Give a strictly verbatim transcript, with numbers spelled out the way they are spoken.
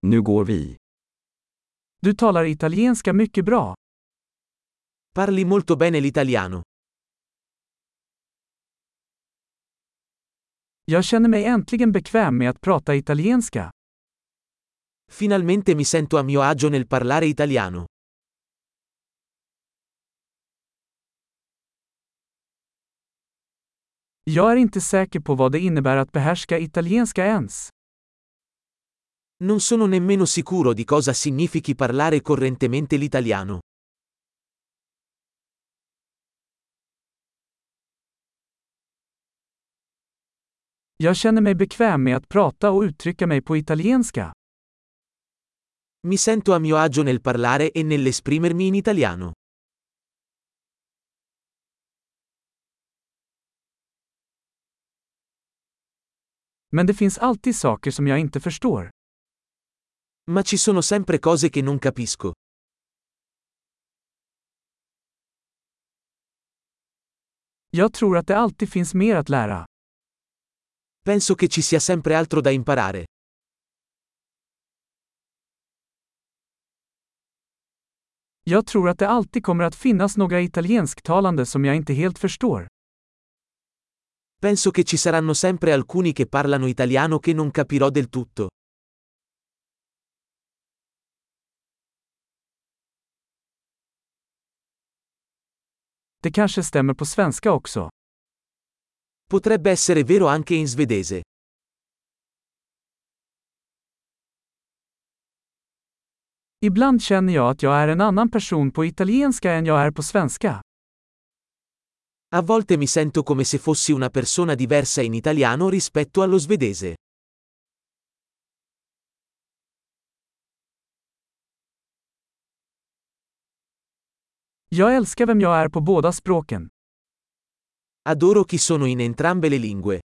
Nu går vi. Du talar italienska mycket bra. Parli molto bene l'italiano. Jag känner mig äntligen bekväm med att prata italienska. Finalmente mi sento a mio agio nel parlare italiano. Jag är inte säker på vad det innebär att behärska italienska ens. Non sono nemmeno sicuro di cosa significhi parlare correntemente l'italiano. Jag känner mig bekväm med att prata och uttrycka mig på italienska. Mi sento a mio agio nel parlare e nell'esprimermi in italiano. Men det finns alltid saker som jag inte förstår. Ma ci sono sempre cose che non capisco. Jag tror att det alltid finns mer att lära. Penso che ci sia sempre altro da imparare. Jag tror att det alltid kommer att finnas några italiensktalande som jag inte helt förstår. Penso che ci saranno sempre alcuni che parlano italiano che non capirò del tutto. Det kanske stämmer på svenska också. Potrebbe essere vero anche in svedese. Ibland känner jag att jag är en annan person på italienska än jag är på svenska. A volte mi sento come se fossi una persona diversa in italiano rispetto allo svedese. Jag älskar vem jag är på båda språken. Adoro chi sono in entrambe le lingue.